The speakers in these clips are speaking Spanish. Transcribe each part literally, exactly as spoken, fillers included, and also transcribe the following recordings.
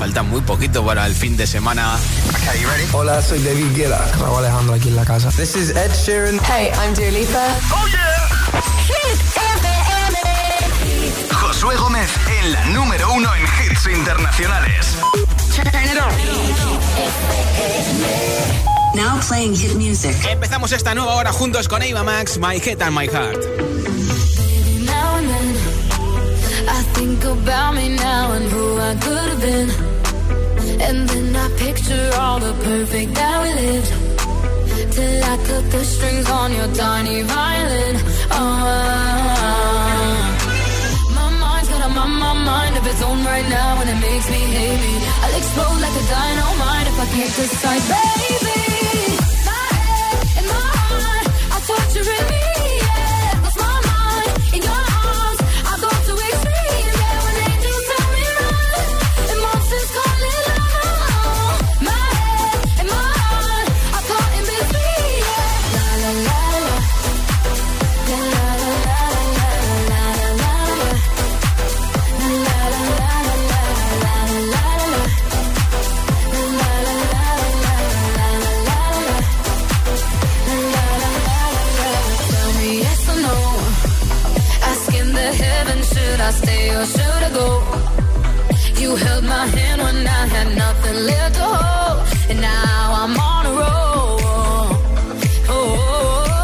falta muy poquito para el fin de semana. Okay, you ready? Hola, soy David Guetta. Raúl Alejandro aquí en la casa. This is Ed Sheeran. Hey, I'm Dua Lipa. Oh yeah. Hit F M. Josué Gómez en la número uno en hits internacionales. Turn it on. Now playing hit music. Empezamos esta nueva hora juntos con Ava Max, My Head and My Heart. Baby, now and then I think about me now and who I could have been. And then I picture all the perfect that we lived. Till I cut the strings on your tiny violin. Oh, my mind's got a my, my mind of its own right now, and it makes me hate me. I'll explode like a dynamite if I can't decide, baby. My head and my heart are torturing me. Yeah, 'cause my mind in your arms, I go to extremes. Yeah, when angels tell me run, emotions call it love. My head and my heart are caught in between. Yeah, la la la la, la la la la la la la la, la la la la la la la la. Should I stay or should I go? You held my hand when I had nothing left to hold, and now I'm on a roll. Oh,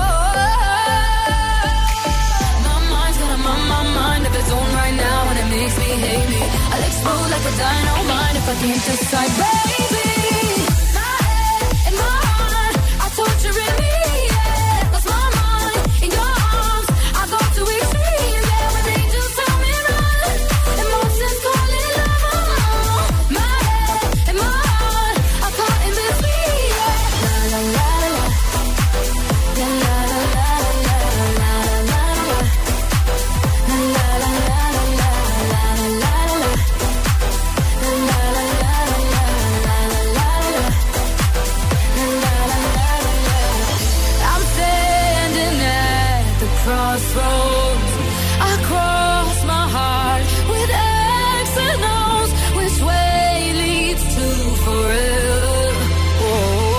my mind's got a my, my mind of its own right now, and it makes me hate me. I'll explode like a dynamite if I can't decide, baby. My head and my heart are torturing me. Yeah, 'cause my mind in your arms, I go to extremes. Yeah, when angels tell me run, emotions call it love. My head and my heart are caught in between. Yeah, la la la la, la la la la la la la la, la la la la la la la la, la la la la la la. I'm standing at the crossroads. I cross my heart with X and O's. Which way leads to forever? Oh,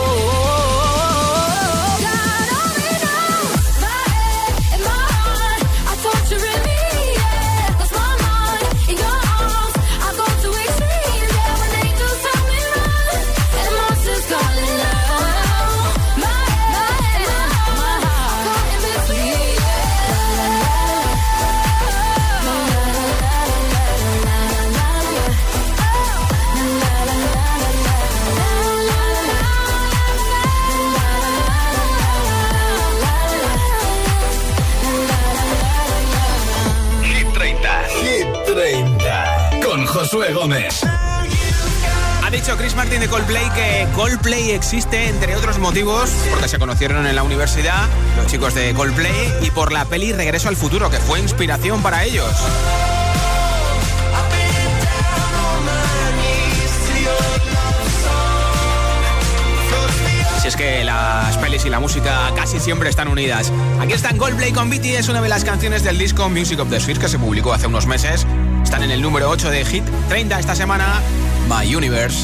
God only knows. My head and my heart are torturing me. Yeah, 'cause my mind in your arms, I go to extremes. Yeah, when angels tell me run, and monsters call it love. My head, my head, my heart, caught in between. La la la la, la la la la la la, la la la la Hit treinta. Hit treinta. Con Josué Gómez. Ha dicho Chris Martin de Coldplay que Coldplay existe, entre otros motivos, porque se conocieron en la universidad, los chicos de Coldplay, y por la peli Regreso al Futuro, que fue inspiración para ellos. Si es que las pelis y la música casi siempre están unidas. Aquí están Coldplay con B T S, una de las canciones del disco Music of the Spheres que se publicó hace unos meses. Están en el número ocho de Hit treinta esta semana, My Universe.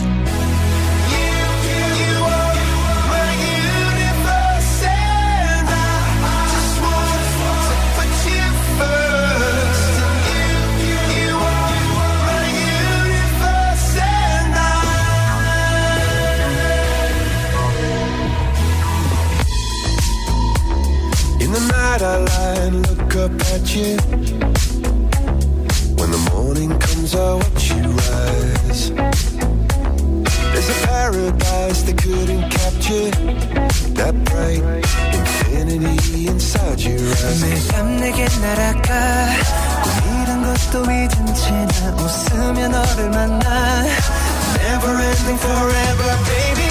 In the night I lie and look up at you. When the morning comes I watch you rise. There's a paradise they couldn't capture. That bright infinity inside your eyes. 매일 밤 내게 날아가 꿈이란 것도 잊은 채 나 웃으며 너를 만나. Never ending forever baby.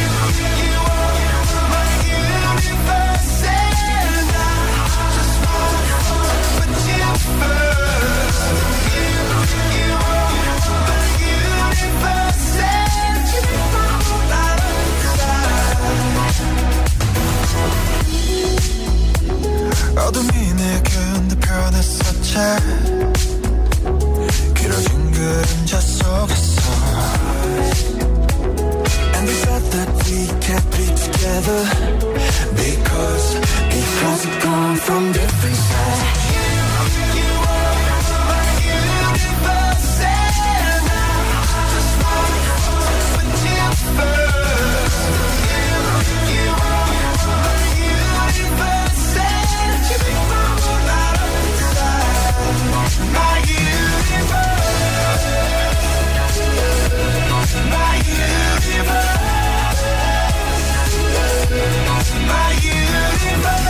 어둠이 내게 흔들펴냈었지. 길어진 그림자 속에서 we kept it together. Because, because we come from different sides. You, you are my universe, and I just wanna put you first. You, you are my universe, and you make my world out of inside. My universe. My universe, my universe.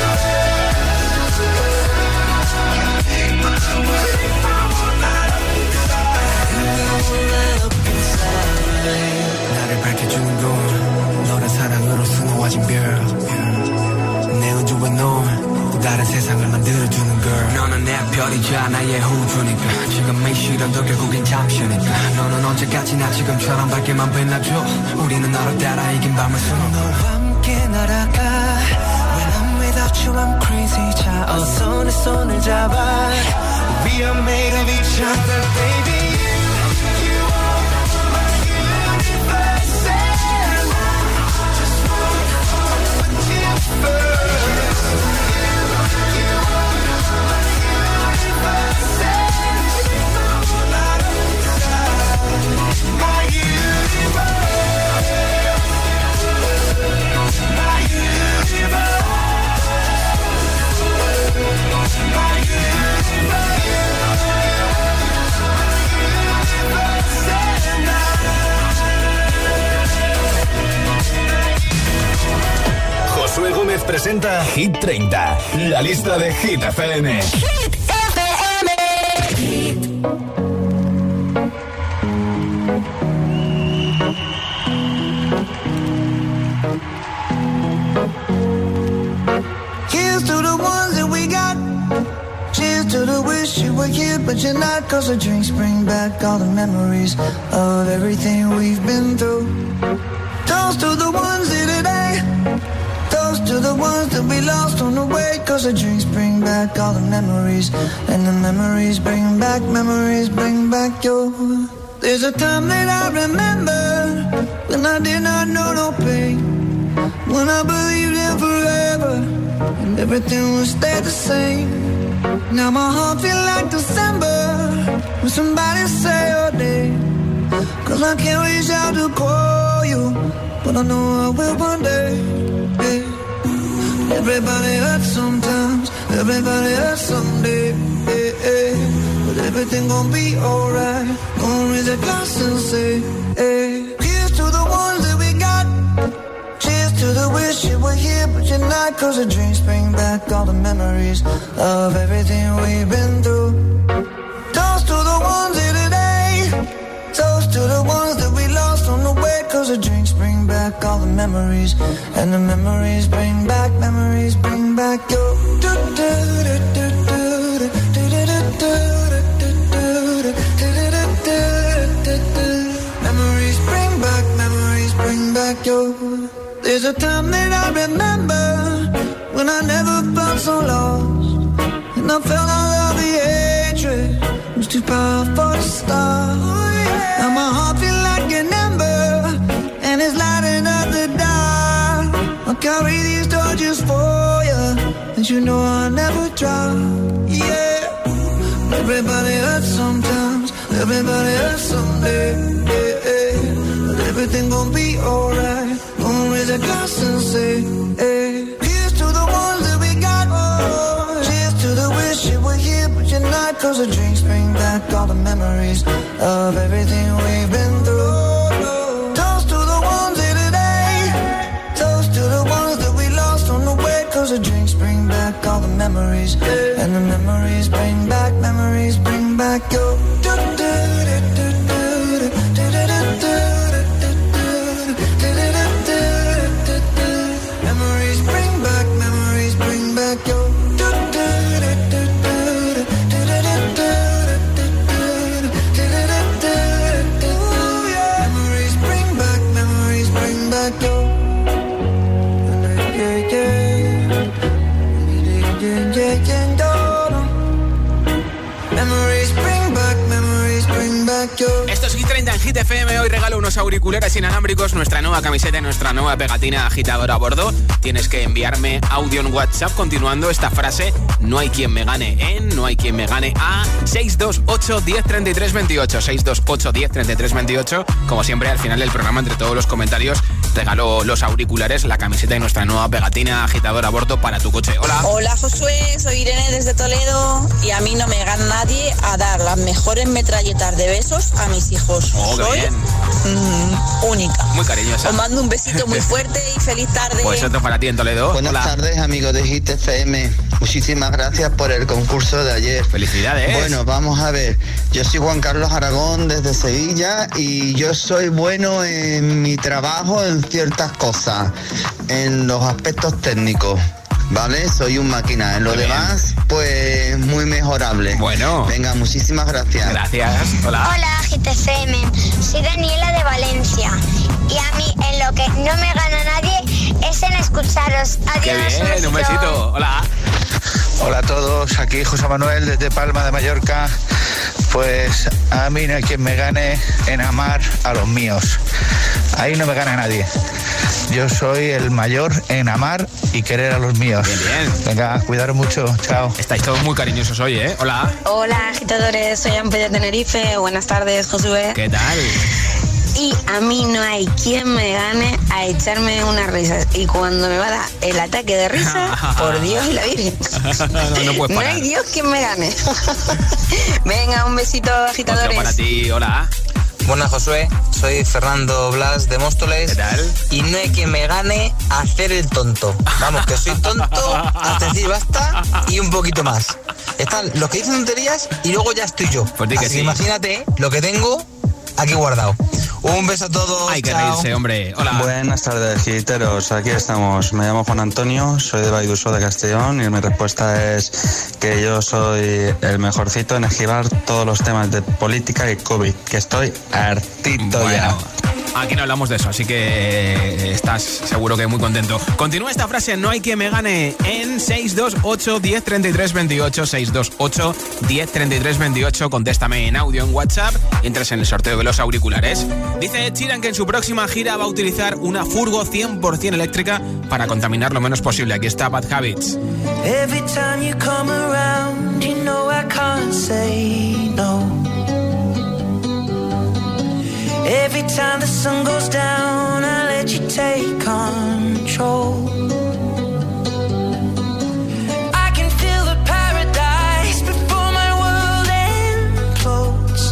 Take my world, take my world out of inside. Up inside. 나를 밝혀주는 건 너란 사랑으로 수놓아진 별. 내 우주와 넌 또 다른 세상을 만들어주는 girl. 너는 내 별이자 나의 호주니까 지금의 시련도 결국엔 잠시니까 너는 언제까지나 지금처럼 밝게만 빛나줘. 우리는 너를 따라 이긴 밤을 수놓아 너와 함께 날아가. When I'm without you I'm crazy. 자 어서 내 손을 잡아. We are made of each other baby. You, you are my universe, and I just wanna put you first. Josué Gómez presenta Hit treinta, la lista de Hit F M. Hit F M. Here's to the ones that we got. Cheers to the wish you were here but you're not. Cause the drinks bring back all the memories of everything we've been through. Toast to the ones here today. Toast to the ones that we lost on the way. Cause the drinks bring back all the memories. And the memories bring back, memories bring back your. There's a time that I remember when I did not know no pain. When I believed in forever and everything would stay the same. Now my heart feel like December when somebody say your name. Cause I can't reach out to call you, but I know I will one day. Yeah. Everybody hurts sometimes, everybody hurts someday. Yeah, yeah. But everything gon' be alright. Gonna raise a glass and say, hey. Here's to the ones that we got. Cheers to the wish you were here but you're not. Cause the drinks bring back all the memories of everything we've been through. Toast to the ones here today. Toast to the ones that we lost on the way. Cause the drinks bring back all the memories. And the memories bring back, memories bring back your. Memories bring back, memories bring back your. There's a time that I remember when I never felt so lost. And I felt all of the hatred was too powerful to stop. Now my heart feel like an ember and it's lighting up the dark. I'll carry these torches for you and you know I'll never drop. Yeah. Everybody hurts sometimes, everybody hurts someday. Yeah, yeah. But everything gon' be alright. Gonna raise a glass and say, hey. Here's to the ones that we got. Oh, cheers to the wish you were here but you're not. Cause the drinks bring back all the memories of everything we've been through. Toast to the ones here today. Toast to the ones that we lost on the way. Cause the drinks bring back all the memories. And the memories bring back, memories bring back your. Memories bring back, memories bring back your. Memories bring back, memories bring back your. Yeah, yeah, yeah, yeah, yeah, yeah. Memories bring back, memories. M hoy regalo unos auriculares inalámbricos, nuestra nueva camiseta y nuestra nueva pegatina agitadora a bordo. Tienes que enviarme audio en WhatsApp continuando esta frase: no hay quien me gane en, no hay quien me gane a seis dos ocho, diez, treinta y tres, veintiocho. seis dos ocho, diez, treinta y tres, veintiocho. Como siempre, al final del programa, entre todos los comentarios, regalo los auriculares, la camiseta y nuestra nueva pegatina agitadora a bordo para tu coche. Hola. Hola Josué, soy Irene desde Toledo y a mí no me gana nadie a dar las mejores metralletas de besos a mis hijos. Oh, qué soy bien. mm, única. Muy cariñosa. Os mando un besito muy fuerte y feliz tarde. Pues otro para ti en Toledo. Buenas Hola. tardes, amigos de Hit F M. Muchísimas gracias por el concurso de ayer. Felicidades. Bueno, vamos a ver. Yo soy Juan Carlos Aragón desde Sevilla y yo soy bueno en mi trabajo en ciertas cosas, en los aspectos técnicos. ¿Vale? Soy un máquina. En lo Muy demás, pues muy mejorable. Bueno. Venga, muchísimas gracias. Gracias. Hola. Hola, G T C M. Soy Daniela de Valencia. Y a mí, en lo que no me gana nadie, es en escucharos. Adiós. Qué bien, un besito. Hola. Hola a todos, aquí José Manuel desde Palma de Mallorca. Pues a mí no hay quien me gane en amar a los míos. Ahí no me gana nadie. Yo soy el mayor en amar y querer a los míos. Bien, bien. Venga, cuidaros mucho, chao. Estáis todos muy cariñosos hoy, ¿eh? Hola. Hola agitadores, soy Amper de Tenerife. Buenas tardes, Josué. ¿Qué tal? Y a mí no hay quien me gane a echarme unas risas. Y cuando me va a dar el ataque de risa, por Dios y la Virgen. no, no puedes No parar. hay Dios quien me gane. Venga, un besito, agitadores. Otro para ti, hola. Buenas, Josué, soy Fernando Blas de Móstoles. ¿Qué tal? Y no hay quien me gane a hacer el tonto. Vamos, que soy tonto hasta decir basta y un poquito más. Están los que dicen tonterías y luego ya estoy yo. Pues di que Así sí. que imagínate lo que tengo aquí guardado. Un beso a todos. Hay que chao. reírse, hombre. Hola. Buenas tardes, giteros. Aquí estamos. Me llamo Juan Antonio, soy de Vallduso de Castellón y mi respuesta es que yo soy el mejorcito en esquivar todos los temas de política y COVID, que estoy hartito Bueno, ya. aquí no hablamos de eso, así que estás seguro que muy contento. Continúa esta frase: no hay quien me gane en seis dos ocho, diez, treinta y tres, veintiocho. seis dos ocho, diez, treinta y tres, veintiocho. Contéstame en audio en WhatsApp y entras en el sorteo de los auriculares. Dice Ed Sheeran que en su próxima gira va a utilizar una furgo cien por ciento eléctrica para contaminar lo menos posible. Aquí está Bad Habits. Every time you come around, you know I can't say no. Every time the sun goes down, I let you take control. I can feel the paradise before my world implodes.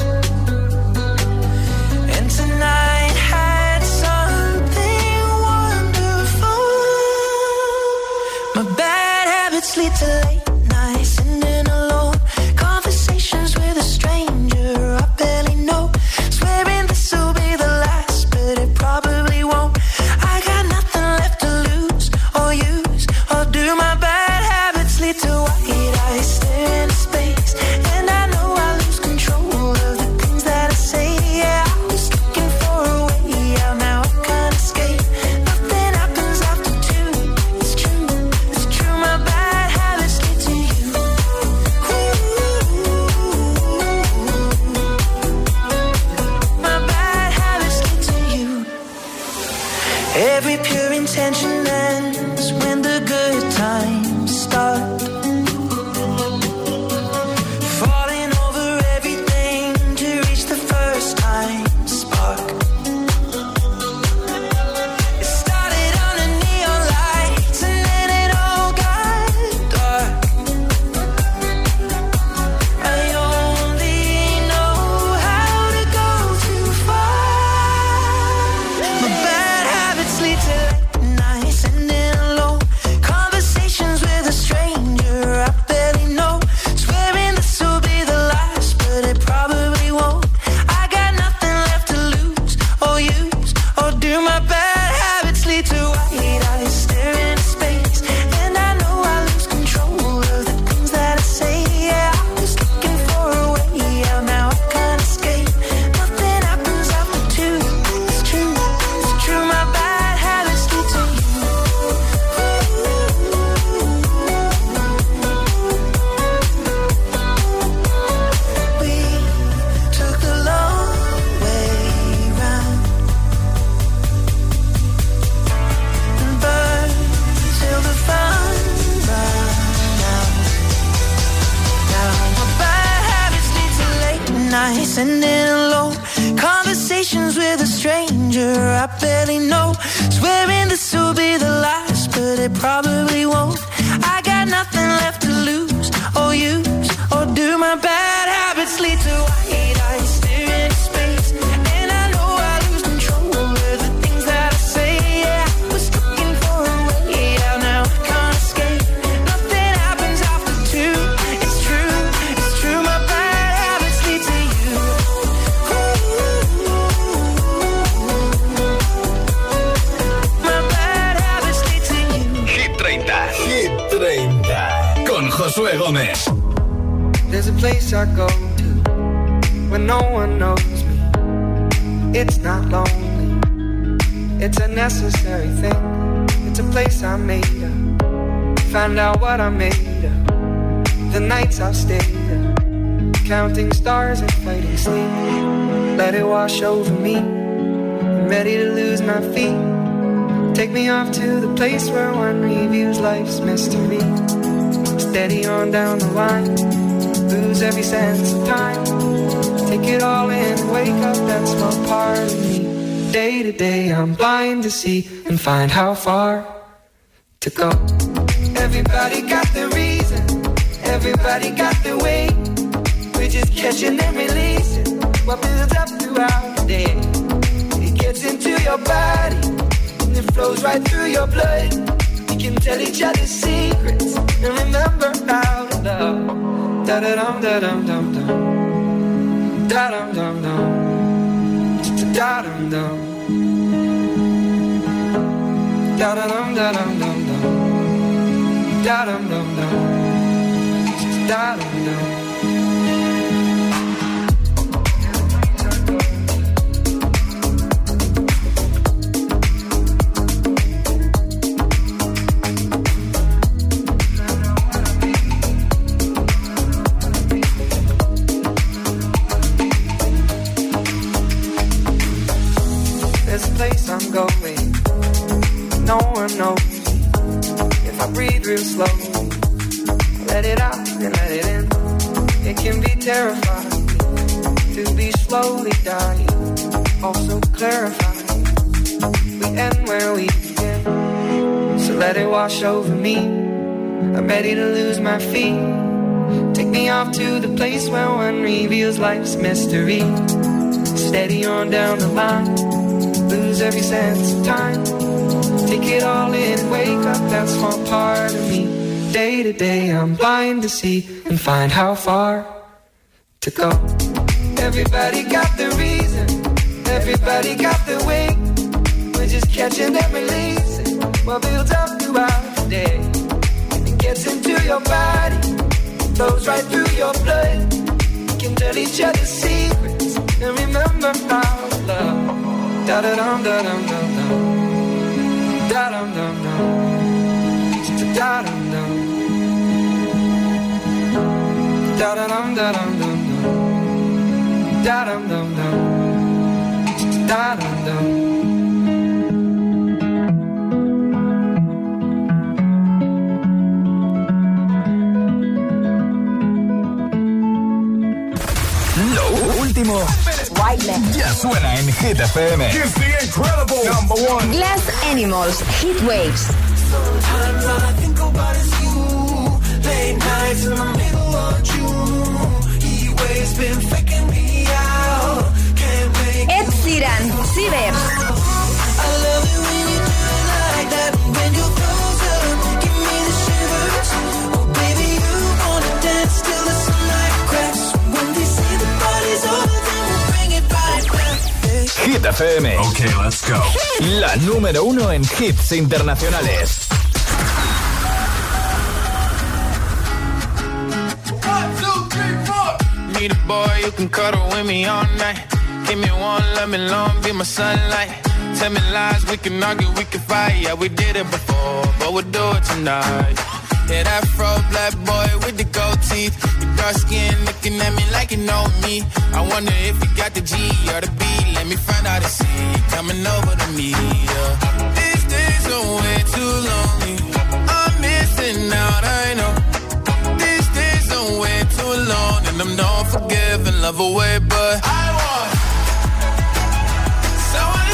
And tonight had something wonderful. My bad habits lead to late nights, sitting alone. Conversations with a stranger I barely know. Swearing this will be the last, but it probably won't. I got nothing left to lose or use or do. My bad habits lead to white eyes stare into space, and I know I lose control of the things that I say. Yeah, I was looking for a way out, now I can't escape. Nothing happens after two. It's true, it's true. My bad habits lead to you. My bad habits lead to you. Every pure intention ends when the good times start. Falling over everything to reach the first time spark. It started under neon lights and then it all got dark. I only know how to go too far. My bad habits lead to late nights and stranger I barely know. Swearing this will be the last, but it probably won't. I got nothing left to lose or use, or do my bad habits lead to white eyes staring at space? And I know I lose control over the things that I say. Yeah, I was looking for a way out, now I can't escape. Nothing happens after two. It's true, it's true. My bad habits lead to you. My bad habits lead to you. Hit treinta. Hit treinta. Con Josué Gómez. There's a place I go to when no one knows me. It's not lonely, it's a necessary thing. It's a place I made up, find out what I made of. The nights I've stayed up, counting stars and fighting sleep. Let it wash over me, I'm ready to lose my feet. Take me off to the place where one reviews life's mystery. Steady on down the line, lose every sense of time. Take it all in and wake up that small part of me. Day to day I'm blind to see and find how far to go. Everybody got their reason, everybody got their way. We're just catching and releasing what builds up throughout the day. It gets into your body and it flows right through your blood. We can tell each other secrets and remember how to love. Da da dum da dum dum dum, da dum dum dum, da dum dum, da da dum da dum dum dum, da dum dum dum, da dum dum. I'm going, no one knows me. If I breathe real slowly, let it out and let it in. It can be terrifying to be slowly dying, also clarifying. We end where we begin, so let it wash over me. I'm ready to lose my feet. Take me off to the place where one reveals life's mystery. Steady on down the line, lose every sense of time. Take it all in and wake up that small part of me. Day to day I'm blind to see and find how far to go. Everybody got their reason, everybody got their way. We're just catching and releasing what builds up throughout the day. It gets into your body, flows right through your blood. We can tell each other secrets and remember how to love. Da da dum da dum dum dum, da dum dum dum, da dum dum, da da dum da dum dum dum, da dum dum dum, da dum dum. Lo último ya suena en Hit F M. Here's the incredible number one. Glass Animals, Heat Waves. Sometimes all I think about is you. Late nights in the middle of June. Heat waves been faking me out. Can't wait. Ed Sheeran, Cibers. I love it when you do it like that. When you're closer, give me the shivers. Oh baby, you wanna dance till the sunlight cracks. When they say the party's over, then we'll bring it right back. Hit F M. Okay, let's go. La número uno en hits internacionales. One, two, three, four. Need a boy you can cuddle with me all night. Give me one, let me long, be my sunlight. Tell me lies, we can argue, we can fight. Yeah, we did it before, but we'll do it tonight. Yeah, that fro black boy with the gold teeth. Your dark skin looking at me like you know me. I wonder if you got the G or the B. Let me find out and see you coming over to me. Yeah. These days are way too lonely. I'm missing out, I know. These days are way too long, and I'm not forgiving, love away, but I want someone.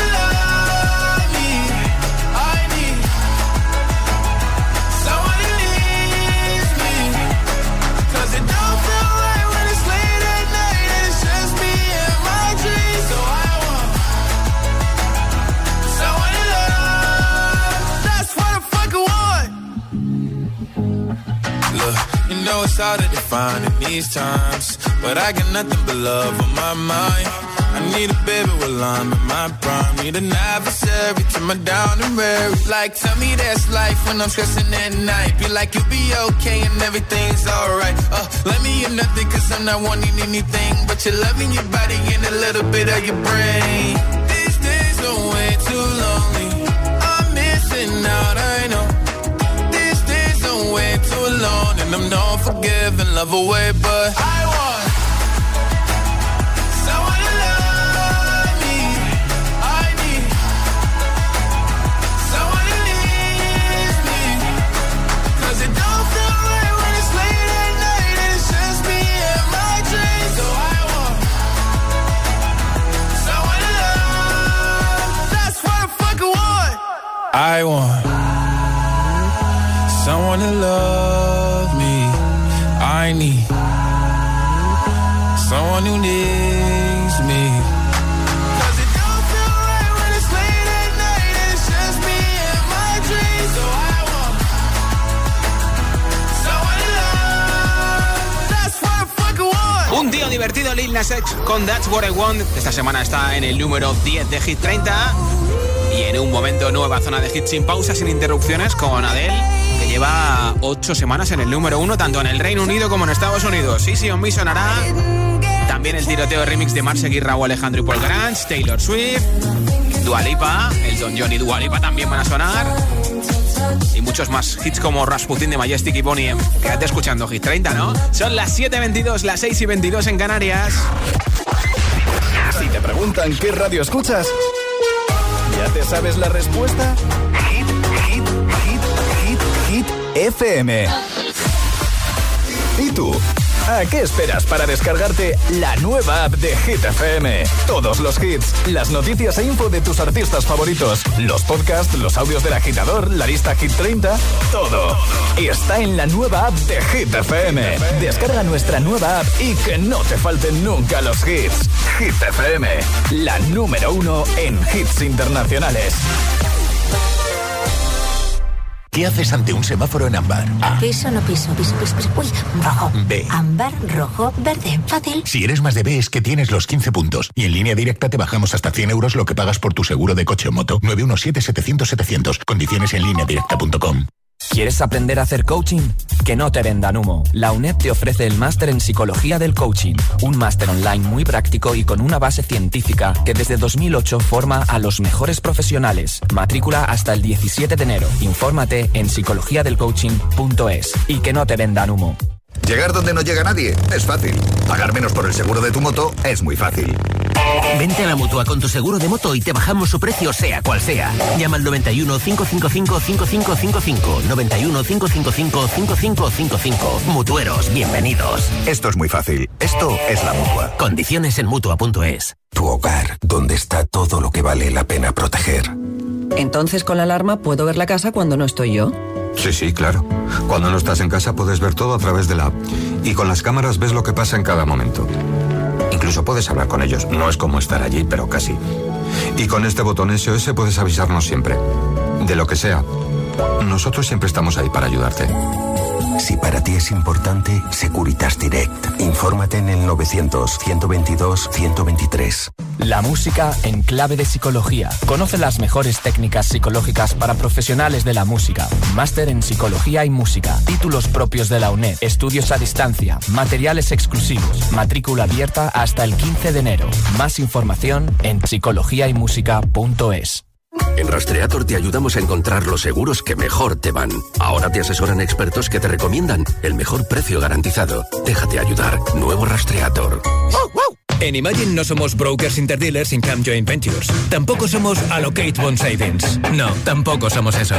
harder to find in these times, but I got nothing but love on my mind. I need a baby while I'm in my prime. Need an adversary to my down and weary. Like, tell me that's life when I'm stressing at night. Be like, you'll be okay and everything's alright. Uh, let me in nothing cause I'm not wanting anything but you're loving your body and a little bit of your brain. These days are way too lonely. I'm missing out, I know. These days are way too alone and I'm not forgiving, love away, but I want someone to love me. I need someone who needs me. Cause it don't feel right when it's late at night and it's just me and my dreams. So I want someone to love. That's what I fucking want. I want someone to love me. I need someone who needs me. Cause it don't feel right when it's late at night and it's just me and my dreams. So I want someone to love. That's what I fucking want. Un tío divertido, Lil Nas X con That's What I Want. Esta semana está en el número diez de Hit treinta. Y en un momento nueva zona de hits sin pausa, sin interrupciones, con Adele, que lleva ocho semanas en el número uno, tanto en el Reino Unido como en Estados Unidos. Easy on Me sonará. También el tiroteo de remix de Marseille, Raúl Alejandro y Paul Grange, Taylor Swift, Dua Lipa, el Don John y Dua Lipa también van a sonar. Y muchos más hits como Rasputin de Majestic y Bonnie M. Quédate escuchando Hit treinta, ¿no? Son las siete y veintidós, las seis y veintidós en Canarias. Si te preguntan qué radio escuchas, ¿ya te sabes la respuesta? Hit, hit, hit, hit, hit F M. ¿Y tú? ¿A qué esperas para descargarte la nueva app de Hit F M? Todos los hits, las noticias e info de tus artistas favoritos, los podcasts, los audios del agitador, la lista Hit treinta, todo está en la nueva app de Hit F M. Descarga nuestra nueva app y que no te falten nunca los hits. Hit F M, la número uno en hits internacionales. ¿Qué haces ante un semáforo en ámbar? A. Piso, no piso, piso, piso, piso. Uy, rojo. B. Ámbar, rojo, verde. Fácil. Si eres más de B es que tienes los quince puntos. Y en Línea Directa te bajamos hasta cien euros lo que pagas por tu seguro de coche o moto. nueve uno siete, setecientos, setecientos. Condiciones en línea directa punto com. ¿Quieres aprender a hacer coaching? Que no te vendan humo. La UNED te ofrece el máster en Psicología del Coaching, un máster online muy práctico y con una base científica que desde dos mil ocho forma a los mejores profesionales. Matrícula hasta el diecisiete de enero. Infórmate en psicología del coaching punto es. Y que no te vendan humo. Llegar donde no llega nadie es fácil. Pagar menos por el seguro de tu moto es muy fácil. Vente a la Mutua con tu seguro de moto y te bajamos su precio sea cual sea. Llama al noventa y uno, cinco cinco cinco, cinco cinco cinco cinco. noventa y uno, cinco cinco cinco, cinco cinco cinco cinco. Mutueros, bienvenidos. Esto es muy fácil. Esto es la Mutua. Condiciones en Mutua punto es. Tu hogar, donde está todo lo que vale la pena proteger. Entonces con la alarma puedo ver la casa cuando no estoy yo. Sí, sí, claro. Cuando no estás en casa puedes ver todo a través de la app. Y con las cámaras ves lo que pasa en cada momento. Incluso puedes hablar con ellos. No es como estar allí, pero casi. Y con este botón S O S puedes avisarnos siempre. De lo que sea. Nosotros siempre estamos ahí para ayudarte. Si para ti es importante, Securitas Direct. Infórmate en el novecientos, ciento veintidós, ciento veintitrés. La música en clave de psicología. Conoce las mejores técnicas psicológicas para profesionales de la música. Máster en Psicología y Música. Títulos propios de la UNED. Estudios a distancia. Materiales exclusivos. Matrícula abierta hasta el quince de enero. Más información en psicología y música punto es. En Rastreator te ayudamos a encontrar los seguros que mejor te van. Ahora te asesoran expertos que te recomiendan el mejor precio garantizado. Déjate ayudar. Nuevo Rastreator. En Imagine no somos brokers interdealers income joint ventures. Tampoco somos Allocate Bond Savings. No, tampoco somos eso.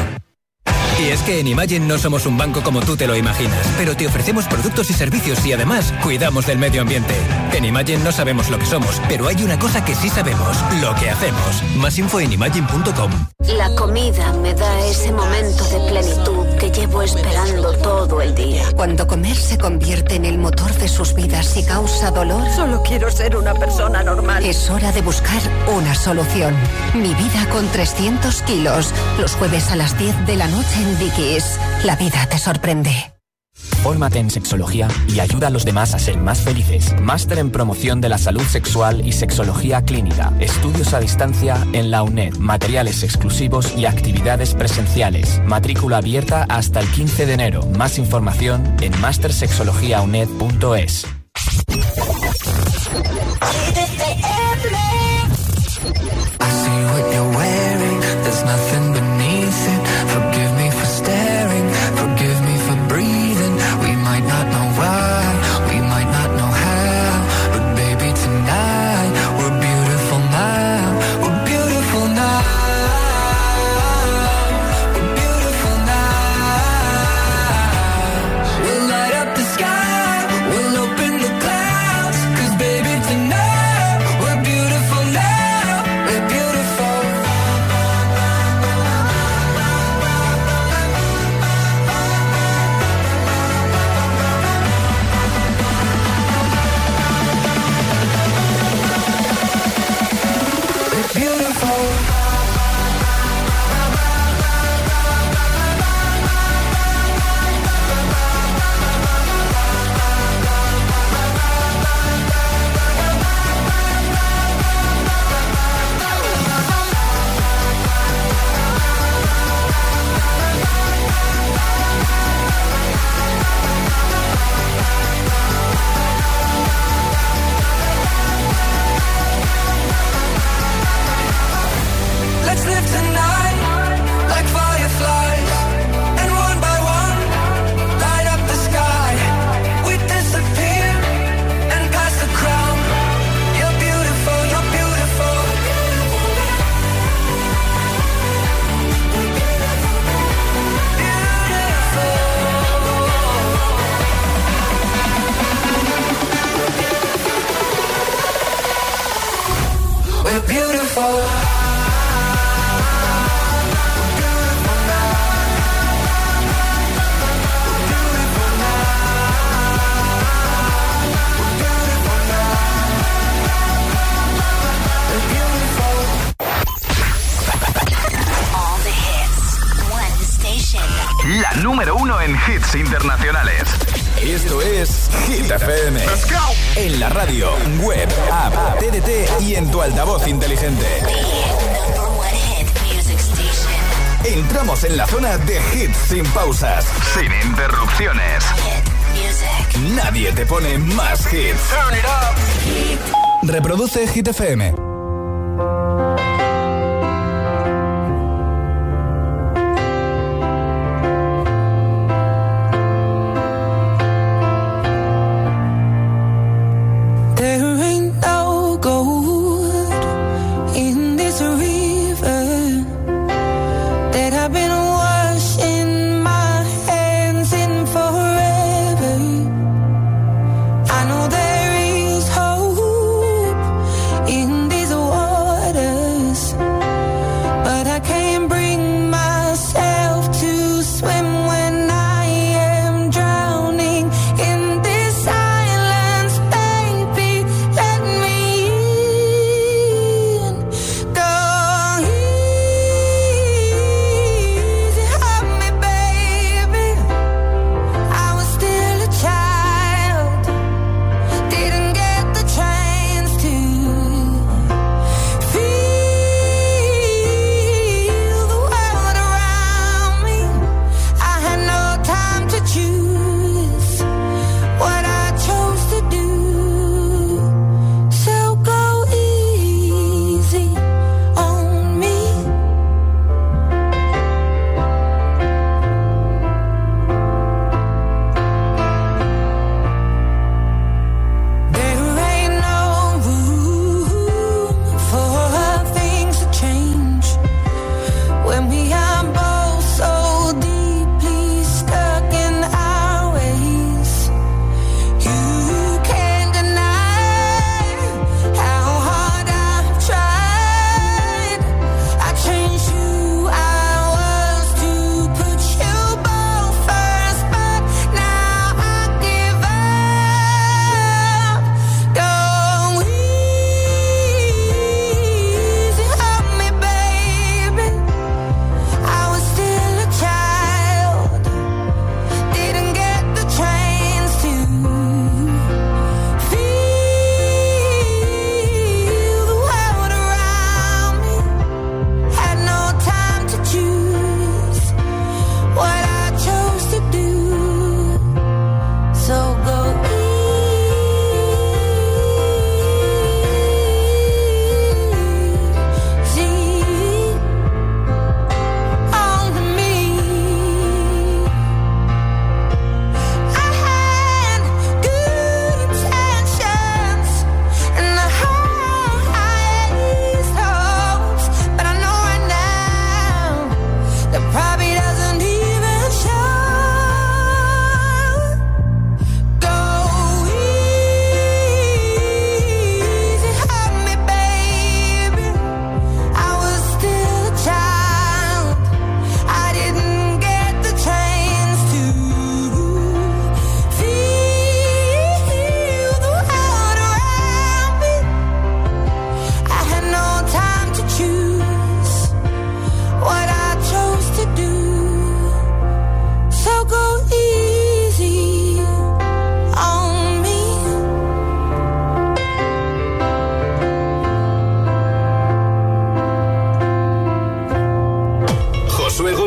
Y es que en Imagine no somos un banco como tú te lo imaginas, pero te ofrecemos productos y servicios y además cuidamos del medio ambiente. En Imagine no sabemos lo que somos, pero hay una cosa que sí sabemos, lo que hacemos. Más info en imagine punto com. La comida me da ese momento de plenitud que llevo esperando todo el día. Cuando comer se convierte en el motor de sus vidas y causa dolor, Solo quiero ser una persona normal. es hora de buscar una solución. Mi vida con trescientos kilos. Los jueves a las diez de la noche en Dickies. La vida te sorprende. Fórmate en sexología y ayuda a los demás a ser más felices. Máster en promoción de la salud sexual y sexología clínica. Estudios a distancia en la UNED. Materiales exclusivos y actividades presenciales. Matrícula abierta hasta el quince de enero. Más información en master sexología u n e d punto e s. La número uno en hits internacionales. Esto es Hit F M. Let's go. En la radio, web, app, T D T y en tu altavoz inteligente. Entramos en la zona de hits sin pausas, sin interrupciones. Nadie te pone más hits. Turn it up. Reproduce Hit F M. In this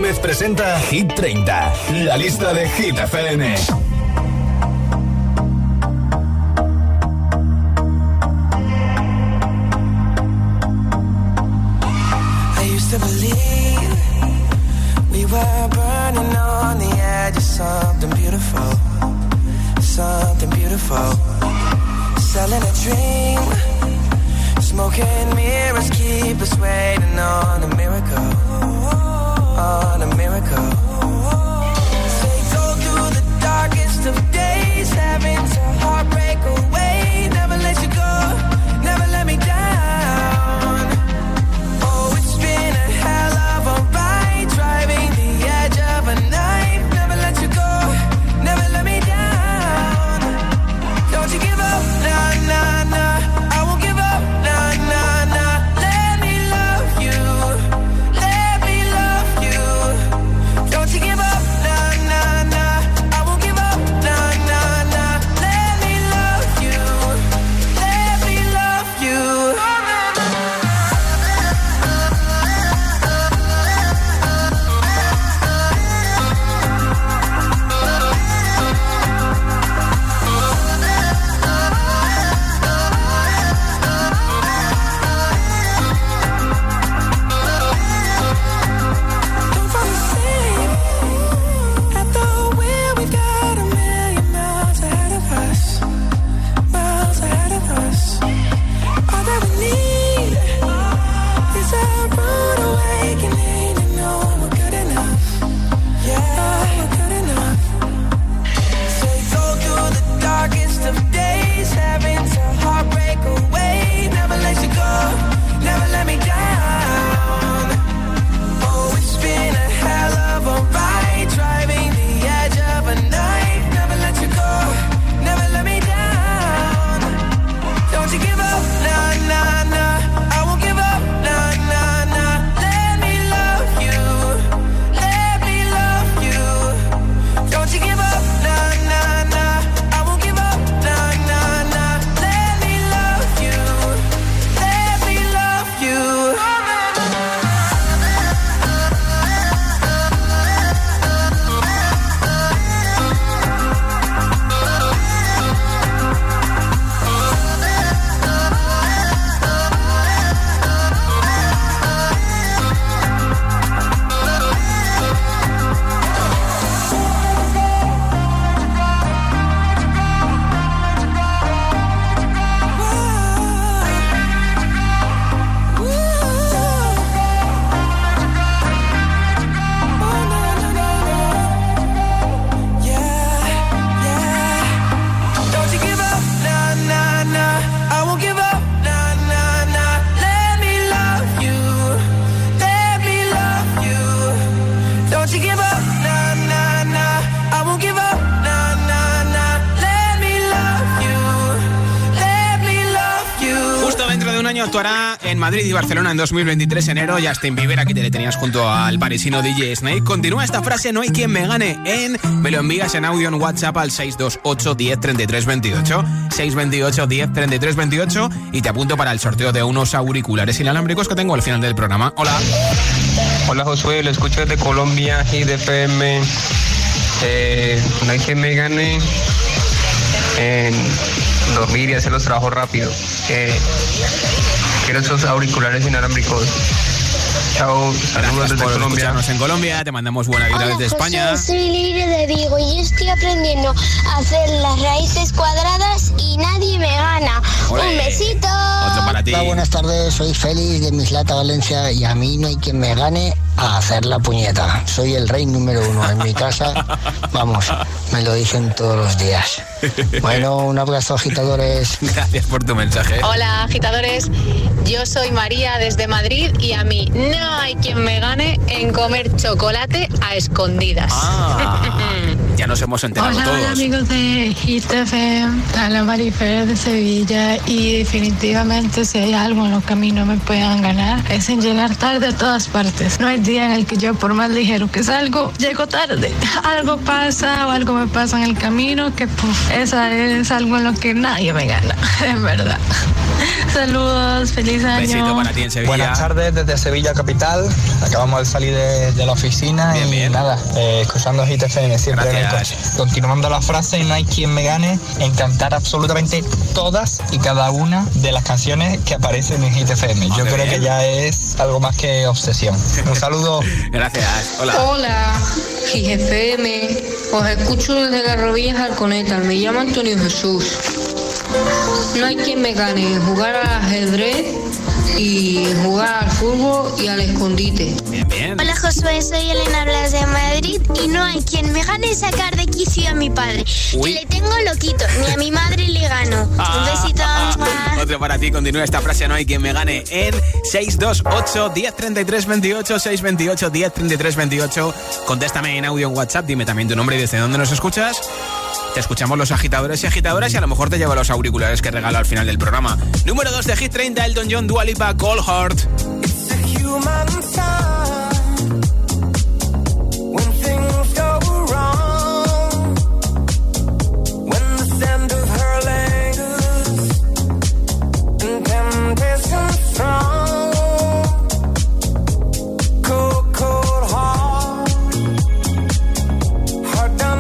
Jiménez presenta Hit treinta, la lista de Hit F M. I used to believe we were burning on the edge of something beautiful, something beautiful. Selling a dream, smoking mirrors keep us waiting on a miracle, on a miracle. They go through the darkest of days, having to heartbreak away. Never let you go, never let me down. Oh, it's been a hell of a ride, driving the edge of a knife. Never let you go, never let me down. Don't you give up, nah, nah, nah. I won't give up, nah, nah, nah. Let me love you, let me love you. Don't you give up, nah, nah, nah. I won't give up, nah, nah, nah. Let me love you, let me love you. Don't fall asleep at the wheel. We've got a million miles ahead of us, miles ahead of us. All that we need is a rude awakening and know we're good enough. Yeah, we're good enough. So we go through the darkest of days, having to heartbreak away. Never let you go, never let me down. Oh, it's been a hell of a ride, driving the edge of a knife. Never let you go, never let me down. Don't you give up, nah, nah, nah. I won't give up, nah, nah, nah. Let me love you, let me love you. Don't you give up, nah, nah, nah. I won't give up, nah, nah, nah. Let me love you, let me love you. Don't you give up, nah, nah, nah. I won't give up, nah, nah, nah. Let me love you, let me love you. Don't you give up, nah, nah, nah. I won't give up, nah, nah, nah. Let me love you, let me love you. Justo dentro de un año actuará en Madrid y Barcelona en dos mil veintitrés, enero. Justin Bieber, aquí te le tenías junto al parisino D J Snake. Continúa esta frase: no hay quien me gane en... Me lo envías en audio en WhatsApp al seis dos ocho, diez, treinta y tres veintiocho. seis dos ocho, diez, treinta y tres veintiocho. Y te apunto para el sorteo de unos auriculares inalámbricos que tengo al final del programa. Hola. Hola Josué, lo escucho desde Colombia, Hit F M. Eh, no hay quien me gane en dormir y hacer los trabajos rápido. Eh, quiero esos auriculares inalámbricos. Chao, saludos desde por Colombia. escucharnos en Colombia, te mandamos buena vida desde España. José, soy Libre de Vigo y estoy aprendiendo a hacer las raíces cuadradas y nadie me gana. ¡Olé! Un besito. Otro para ti. Hola, buenas tardes, soy Félix de Mislata, Valencia, y a mí no hay quien me gane a hacer la puñeta. Soy el rey número uno en mi casa. Vamos, me lo dicen todos los días. Bueno, un abrazo, agitadores. Gracias por tu mensaje. Hola, agitadores. Yo soy María desde Madrid y a mí no hay quien me gane en comer chocolate a escondidas. Ah. ya nos hemos enterado hola, todos. Hola amigos de Hit F M, la Marifer de Sevilla, y definitivamente si hay algo en lo que a mí no me puedan ganar es en llegar tarde a todas partes. No hay día en el que yo, por más ligero que salgo, llego tarde. Algo pasa o algo me pasa en el camino que puf, esa es algo en lo que nadie me gana, en verdad. Saludos, feliz año. Besito para ti en Sevilla. Buenas tardes desde Sevilla capital. Acabamos de salir de, de la oficina bien, y bien. nada, eh, escuchando Hit F M siempre en el coche. Continuando la frase, no hay quien me gane en cantar absolutamente todas y cada una de las canciones que aparecen en Hit F M. Yo creo bien. que ya es algo más que obsesión. Un saludo. Gracias. Hola. Hola, Hit F M. Os escucho desde Garrovillas Alconeta. Me llamo Antonio Jesús. No hay quien me gane en jugar al ajedrez y jugar al fútbol y al escondite. Bien, bien. Hola Josué, soy Elena Blas de Madrid y no hay quien me gane sacar de quicio a mi padre. Uy. Que le tengo loquito, ni a mi madre le gano. Ah, Un besito. Ah, ah. Otro para ti, continúa esta frase, no hay quien me gane en seis dos ocho, diez treinta y tres veintiocho, seis veintiocho, diez treinta y tres veintiocho. Contéstame en audio en WhatsApp, dime también tu nombre y desde dónde nos escuchas. Te escuchamos los agitadores y agitadoras y a lo mejor te llevo los auriculares que regalo al final del programa. Número dos de Hit treinta, Elton John, Dua Lipa, Cold Heart. It's a human sign when things go wrong, when the scent of her lingers and temptation strong, cold, cold heart, heart done.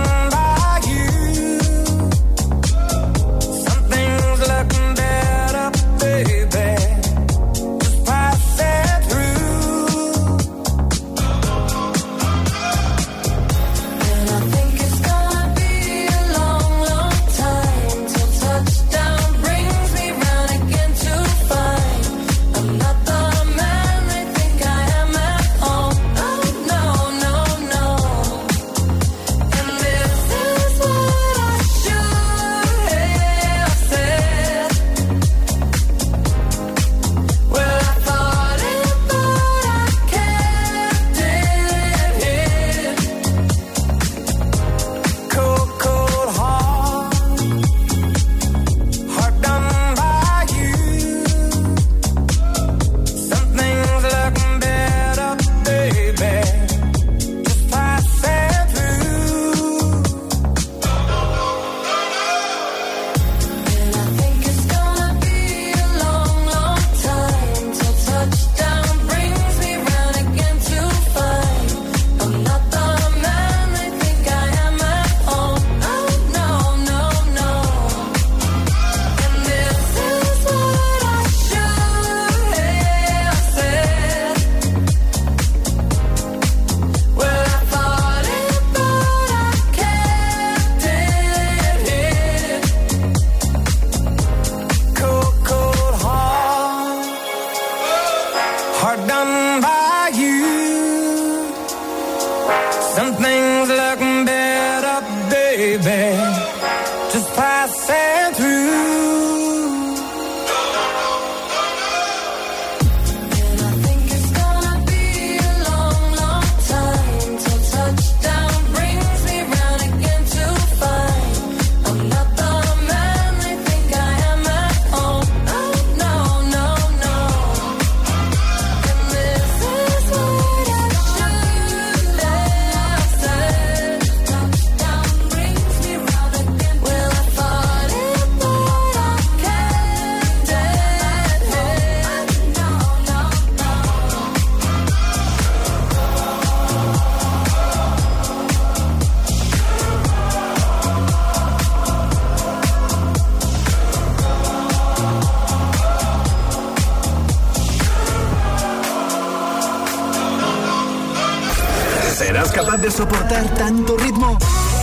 ¿Serás capaz de soportar tanto ritmo?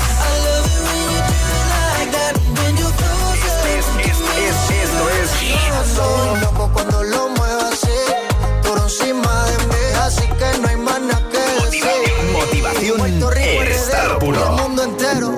Es, es, es, esto es soy loco cuando lo muevo así, por encima de mí, así que no hay más nada que decir. Motivación en estado puro. El mundo entero.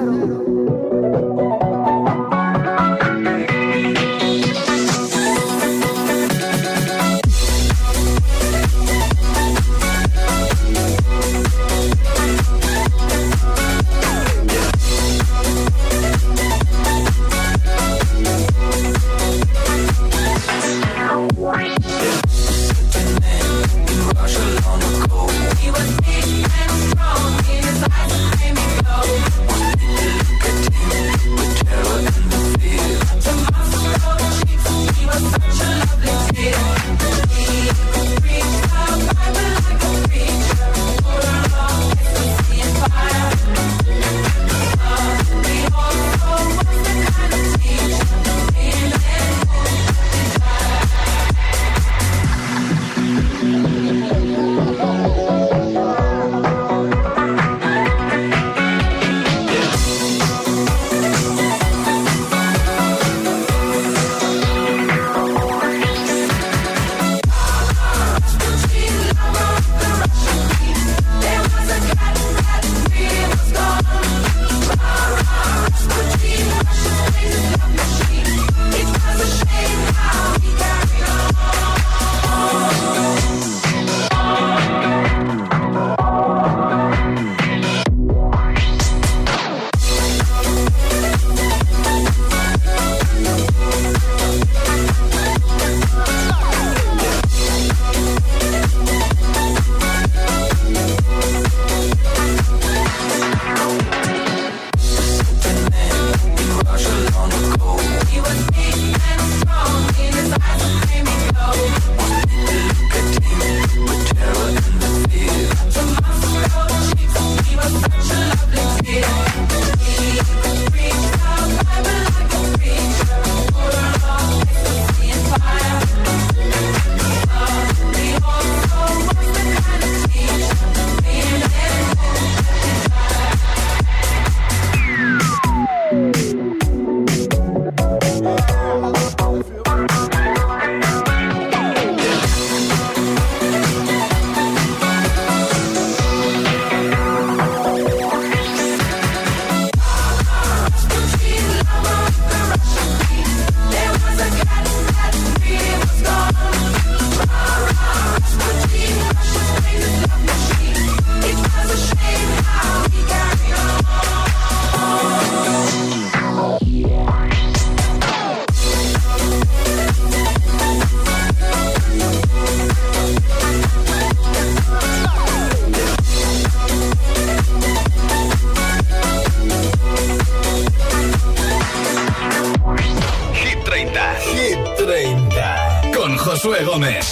Gómez.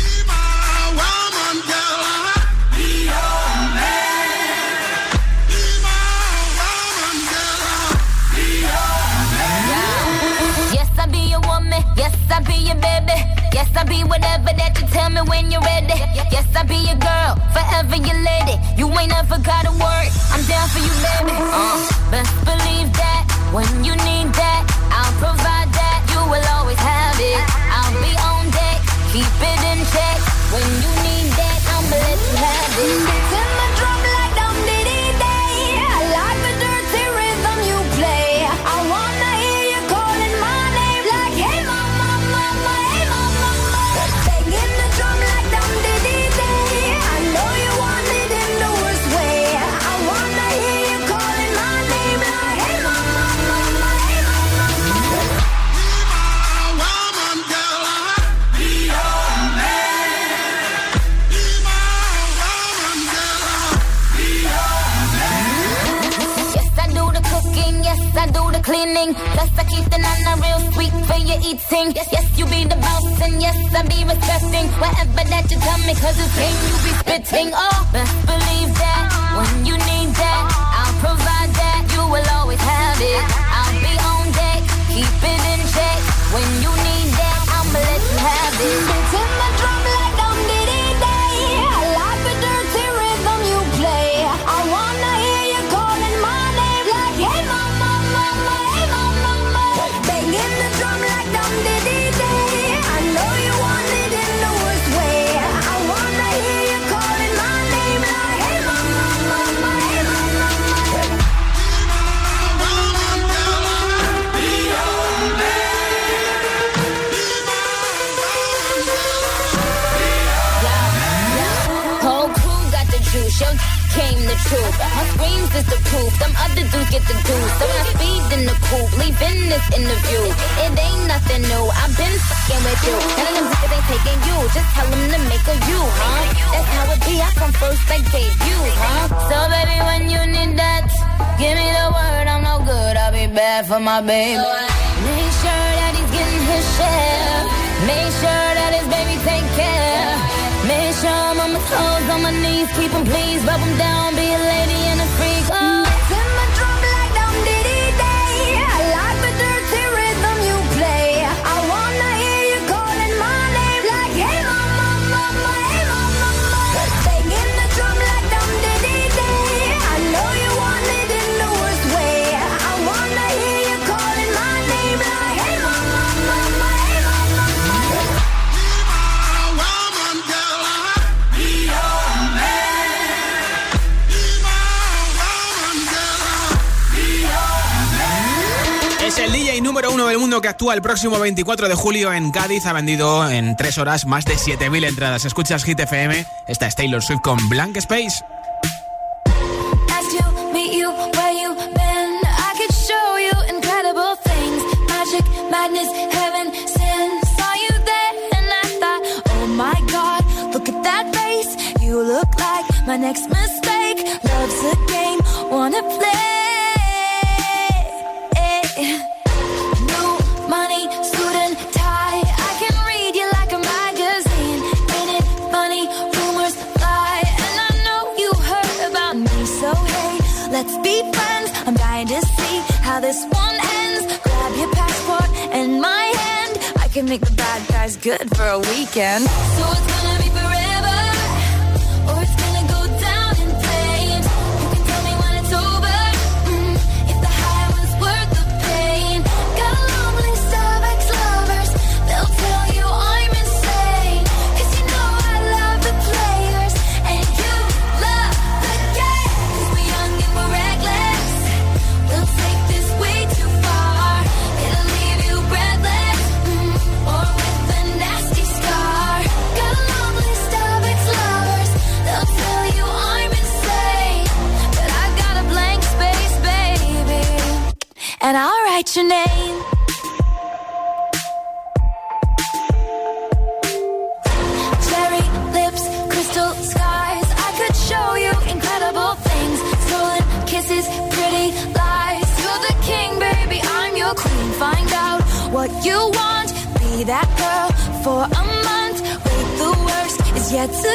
Yes, I be your baby. Yes, I be whatever that you tell me when you're ready. Yes, I be your girl, forever your lady. You ain't never gotta worry, I'm down for you, baby. Uh, best believe that when you need that, I'll provide that. You will always have it. I'll be on deck, keep it in check. When you need that, I'ma let you have it. It's in my drum like dum diddy day. I like the dirty rhythm you play. I wanna hear you calling my name like hey mama, mama, hey mama, mama. Banging the drum like dum diddy day. I know you want it in the worst way. I wanna hear you calling my name like hey mama, mama, hey mama, mama. Be my woman, girl, be your man. Be my woman, girl, be your man. Yes, I do the cooking, yes, I do the cleaning. Plus I keep the nana real sweet for your eating. Yes, yes, you be the boss and yes, I be respecting whatever that you tell me, cause it's game you be spitting. Oh, best believe that when you need that, I'll provide that. You will always have it. I'll be on deck, keep it in check. When you need that, I'ma let you have it. It's in my drum like dum diddy day. I like the dirty rhythm you play. I wanna hear you calling my name like hey mama, mama, hey mama, mama. Banging the drum like dum diddy day. I know you want it in the worst way. I wanna hear you calling my name like hey mama, mama, hey mama, mama. Be your whole crew got the juice, yo came the truth. My screams is the proof, them other dudes get the juice. So I speed in the coupe, leaving this interview. It ain't nothing new, I've been fucking with you. None of them niggas ain't taking you, just tell them to make a you, huh? That's how it be, I come first like debut, huh? So baby, when you need that, give me the word, I'm no good, I'll be bad for my baby. Make sure that he's getting his share. Make sure that his baby take care. Make sure I'm on my toes, on my knees, keep him please, rub him down, be a lady and a freak. Oh. It's in my drum like dum diddy day. I like the dirty rhythm you play. I wanna hear you calling my name like hey mama, mama, hey mama, mama. Banging the drum like dum diddy day. I know you want it in the worst way. I wanna hear you calling my name like hey mama, mama, hey mama, mama. Es el D J número uno del mundo que actúa el próximo veinticuatro de julio en Cádiz. Ha vendido en tres horas más de siete mil entradas. Escuchas Hit F M. Esta es Taylor Swift con Blank Space. Madness, heaven, sin. Saw you there and I thought, oh my God, look at that face. You look like my next mistake. Love's a game, wanna play. New money, suit and tie. I can read you like a magazine. Ain't it funny, rumors fly. And I know you heard about me, so hey, let's be friends. I'm dying to see how this one ends. Grab your passport and my hand. I can make the bad guys good for a weekend. So it's gonna be forever, or it's gonna go down in flames. You can tell me when it's over, mm, if the high was worth the pain. Got a long list of ex-lovers, they'll tell you I'm insane. Cause you know I love the players, and you love the game. Cause we're young and we're reckless, we'll take this way too far. It'll leave you breathless, mm, or with a nasty scar. Got a long list of ex-lovers, they'll tell you I'm insane. But I got a blank space, baby, and I'll write your name. Cherry lips, crystal skies. I could show you incredible things. Stolen kisses, pretty lies. You're the king, baby, I'm your queen. Find out what you want. Be that girl for a month. is yet to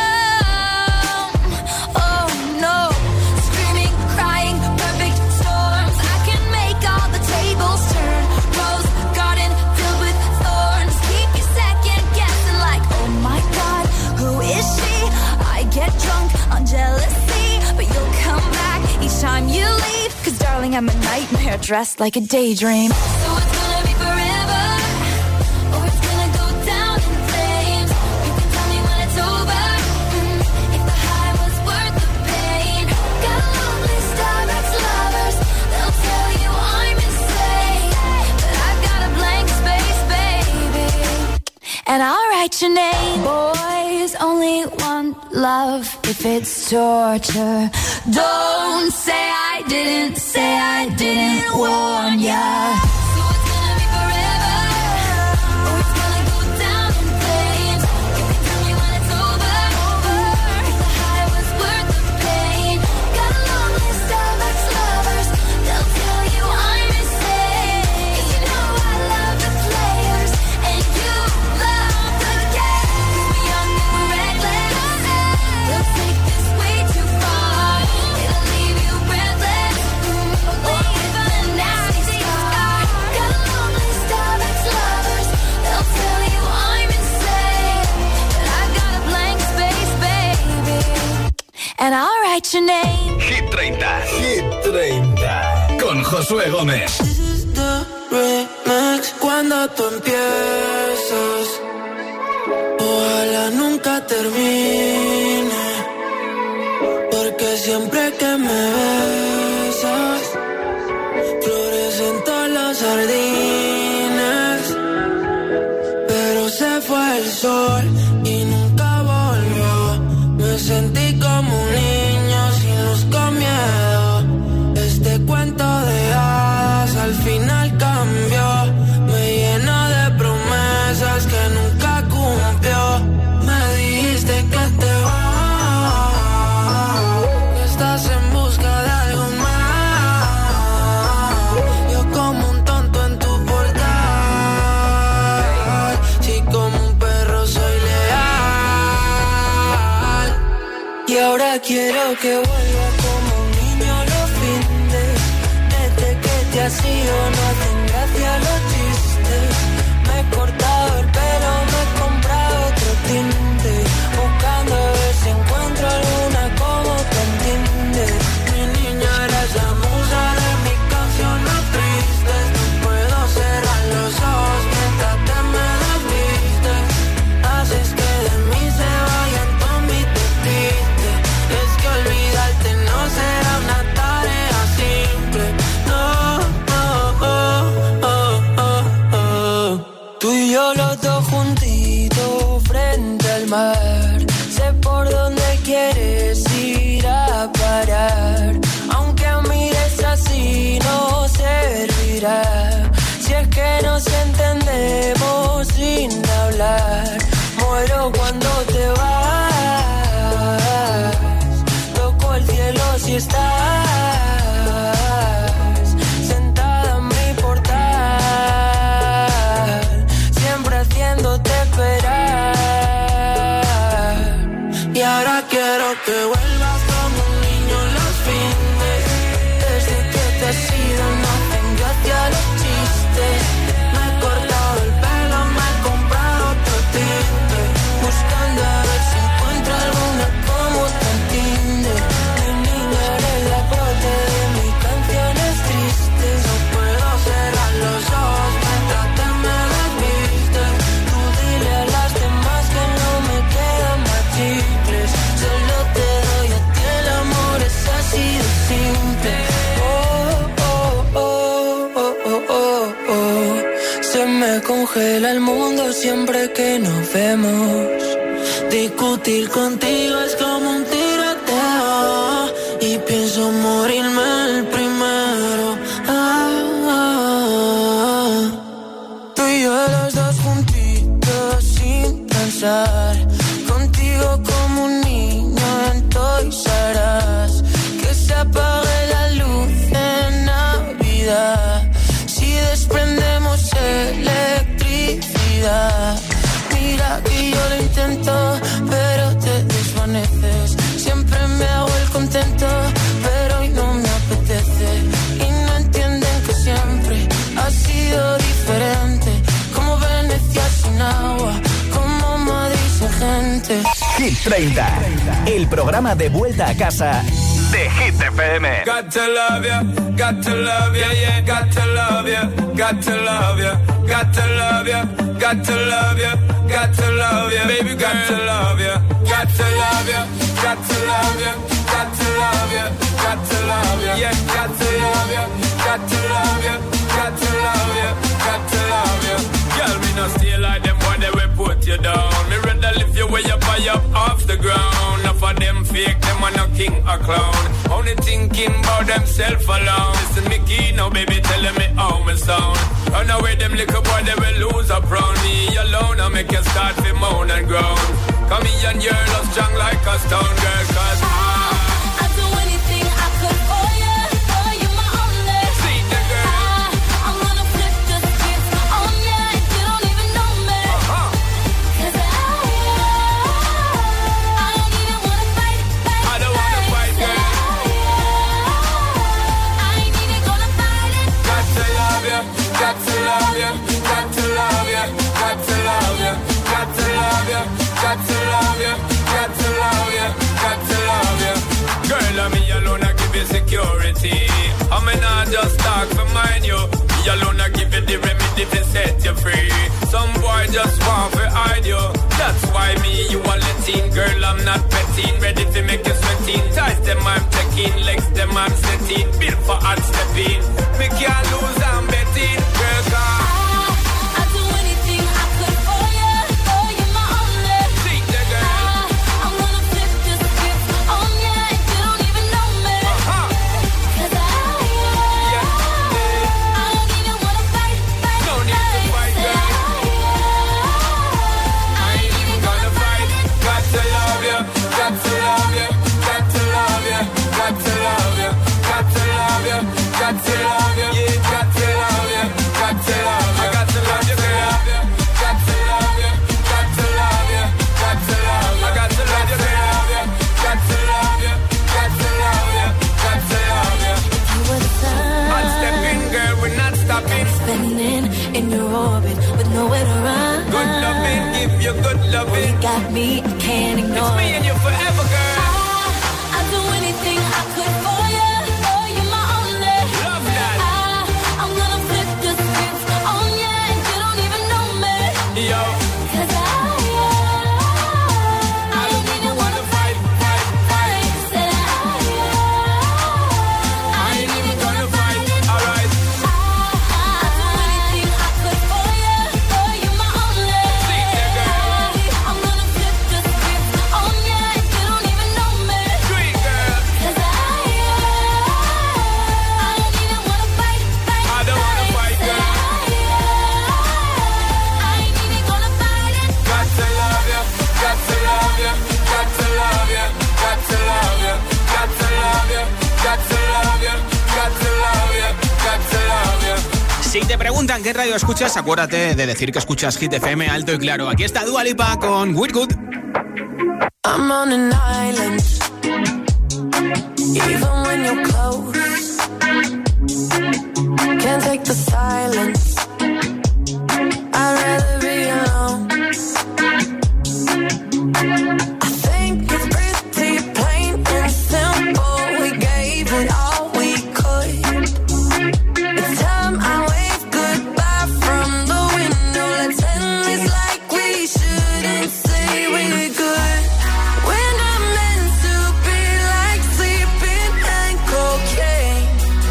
come. Oh no, screaming, crying, perfect storms. I can make all the tables turn. Rose garden filled with thorns. Keep you second guessing like, oh my God, who is she? I get drunk on jealousy, but you'll come back each time you leave. Cause darling, I'm a nightmare dressed like a daydream. So it's gonna be forever, or it's gonna go down in flames. You can tell me when it's over, mm, if the high was worth the pain. Got a long list of ex-lovers, they'll tell you I'm insane, but I've got a blank space, baby, and I'll write your name. Boys only want love if it's torture. Don't say I didn't, say I didn't warn ya. So it's gonna be forever, or it's gonna go down in flames. You can tell me when it's over, over. If the high was worth the pain. Got a long list of ex-lovers, they'll tell you I'm insane. 'Cause you know I love the players, and you love the game. 'Cause we're young and we're reckless, they'll take this way too far. It'll leave you breathless, or even a nasty scar. Got a long list of ex-lovers, they'll tell you I'm insane, but I've got a blank space, baby, and I'll write your name. Hit treinta. Hit treinta. Con Josué Gómez. This is the remix. Cuando tú empiezas, ojalá nunca termine, porque siempre que me besas, florecen todos los jardines, pero se fue el sol y nunca volvió. Me sentí como un niño sin luz, con miedo. Este cuento de hadas al final cambió. Me llenó de promesas que nunca cumplió. Me dijiste que te vas, que estás en busca de algo más. Yo como un tonto en tu portal, si como un perro soy leal. Y ahora quiero que vuelva como un niño a los fines. Desde que te has ido no hacen gracia los chistes. Me he cortado el pelo, me he comprado otro tinte, buscando a ver si encuentro alguna como te entiende. Mi niña, eres la musa de mis canciones tristes. No puedo cerrar los ojos mientras te me desvistes. Haces que de mí se vayan todos mis despistes. Es que olvidarte no será una tarea simple. No, oh, oh, oh, oh, oh. Tú y yo los dos juntitos frente al mar. Sé por dónde quieres ir a parar. Aunque mires así no servirá. Si es que nos entendemos sin hablar. Muero cuando te vas. Toco el cielo si estás sentada en mi portal, siempre haciéndote esperar. Y ahora quiero que vuelvas como un niño los fines. Desde que te has ido no hacen gracia los chistes. Me he cortado el pelo, me he comprado otro tinte, buscando a ver si encuentro alguna como te entiende. Mi niña, eres la corte de mis canciones tristes. No puedo cerrar los ojos mientras te me desvistes. Tú dile a las demás que no me quedan más chicles. Solo te doy a ti el amor, es así de simple. Oh, oh, oh, oh, oh, oh, oh. Se me congela el mundo siempre que nos vemos. Discutir contigo es como un tiroteo y pienso morirme el primero. Ah, ah, ah. Tú y yo los dos juntitos sin pensar. Contigo como un niño en Toys R Us. Que se apague la luz en Navidad. Si desprendemos electricidad. Mira que yo lo intento, pero veces. Siempre me hago el contento, pero hoy no me apetece. Y no entienden que siempre ha sido diferente. Como Venecia sin agua, como Madrid sin gente. Hit treinta, el programa de vuelta a casa de Hit F M. Got to love ya, got to love ya, yeah, got to love ya, got to love ya, got to love ya, got to love ya, got to love ya, baby, got to love ya, got to love ya, got to love ya, got to love ya, got to love ya, yeah, got to love ya, got to love ya, got to love ya, got to love ya. Girl, me no stay like them boy, they will put you down. Me rather lift you way up high up off the ground. Enough of them fake, them are no king or clown. Only thinking about themself alone. Listen me key now, baby, telling me how me sound. Run away them little boy, they will lose up round me alone. I make you start to moan and groan. Come here and you're love strong like a stone girl, cause I I'd do anything I could for you, for you my only. See the girl. I, I'm gonna flip the script on ya if you don't even know me. Uh-huh. Cause I, I don't even wanna fight, fight, I don't wanna fight, girl. I ain't even gonna fight it. Got to love ya, got to love ya, got to love ya, got to love ya, got to love ya, got to love ya, got to love ya, got to love ya. Girl, I'm me alone, I give you security. I mean, I just talk for mine, you. Me alone, I give you the remedy to set you free. Some boy just want to hide you. That's why me, you are letting. Girl, I'm not petting. Ready to make you sweating. Ties them, I'm checking. Legs them, I'm setting. Built for hard stepping. Me can't lose, I'm betting. Girl, God. I'd do anything I could for you, for you my only. See the girl. I'm gonna flip the script on ya if you don't even know me. Uh-huh. Cause I, I don't even wanna fight, fight, No need to fight, girl. I ain't even gonna fight it. Got to love ya, got to love ya, got to love ya, got to love ya, got to love ya, got to love ya, yeah, got to love ya, got to love ya, got to love ya, girl. Got to love ya, got to love ya, got to love ya, got to love ya, girl. Got to love ya, got to love ya, got to love ya. You were the sun. One step in, girl, we're not stopping. Spinning in your orbit with nowhere to run. Good loving, give you good loving. You got me, I can't ignore It's me it. and you forever, girl. I, I'd do anything I could for you, for you my only. Love that. I, I'm gonna flip the script on ya if you don't even know me. Yo. Cause I, I don't even wanna fight, fight, fight. Said I, I ain't even gonna fight it. Alright. I'd do anything I could for you, for you my only. See the girl. I'm gonna flip the script on ya if you don't even know me. Sweet girl. Cause I, I don't even wanna fight, fight, I don't wanna fight, girl. I ain't even gonna fight it. Got to love ya, got to love ya, got to love ya, got to love ya, got to love ya, got to love ya, got to love ya, got to love ya. Si te preguntan qué radio escuchas, acuérdate de decir que escuchas Hit F M alto y claro. Aquí está Dua Lipa con We're Good. I'm on an island, even when you're close. Can't take the silence. I'd rather be alone. I think it's pretty plain and simple. We gave it all we could. It's time I wave goodbye from the window. Let's end this like we shouldn't say we're good. We're not meant to be like sleeping and cocaine.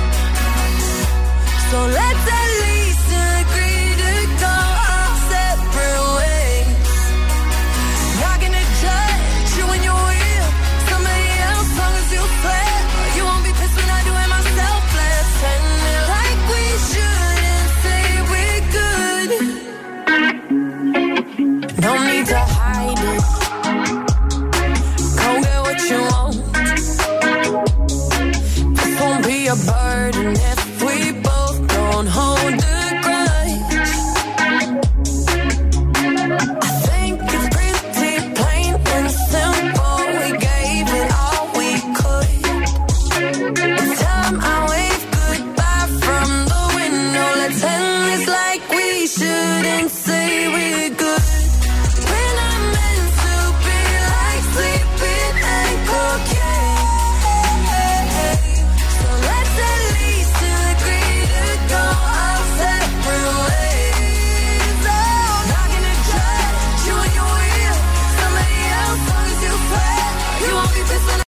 So let's at least agree to go our separate ways. Not gonna judge you when you're with somebody else, long as you play. You won't be pissed when I do it myself. Let's end it like we shouldn't say we're good. No need to hide it. Go get what you want. This won't be a burden if